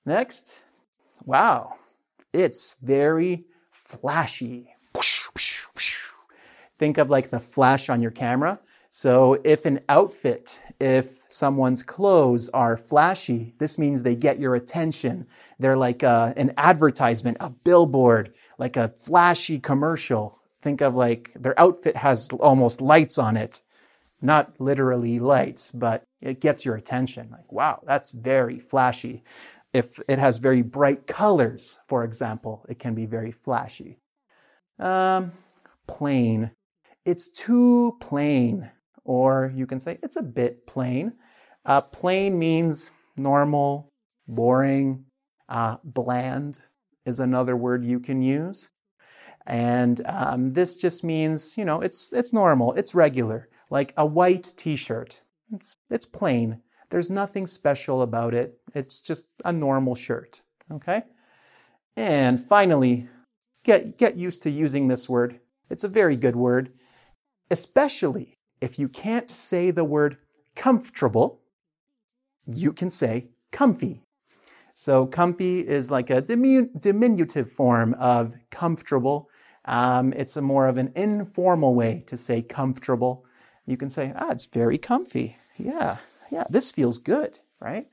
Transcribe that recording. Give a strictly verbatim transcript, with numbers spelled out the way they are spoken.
Next, wow, it's very flashy. Think of like the flash on your camera. So if an outfit, if someone's clothes are flashy, this means they get your attention. They're like a, an advertisement, a billboard, like a flashy commercial. Think of like their outfit has almost lights on it. Not literally lights, but it gets your attention. Like, wow, that's very flashy. If it has very bright colors, for example, it can be very flashy. Um, plain. It's too plain. Or you can say it's a bit plain. Uh, plain means normal, boring, uh, bland is another word you can use. And um, this just means, you know, it's it's normal, it's regular, like a white t-shirt. It's, it's plain. There's nothing special about it. It's just a normal shirt, okay? And finally, get, get used to using this word. It's a very good word, especially if you can't say the word comfortable, you can say comfy. So comfy is like a dimin- diminutive form of comfortable. Um, it's a more of an informal way to say comfortable. You can say, ah, it's very comfy. Yeah, yeah, this feels good, right?